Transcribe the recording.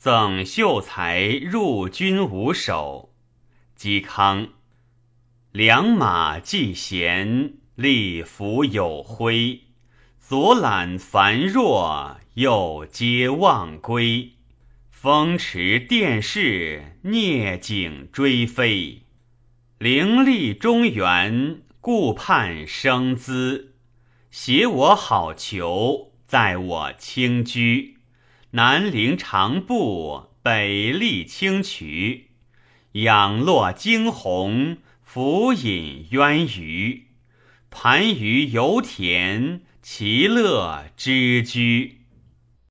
赠秀才入军五首。嵇康。良马既闲，力服有挥。左揽繁若，右接望归。风驰电掣，聂景追飞。凌厉中原，顾盼生姿。携我好逑，载我轻居。南陵长步，北历清渠。仰落惊鸿，俯饮渊鱼。盘于油田，其乐之居。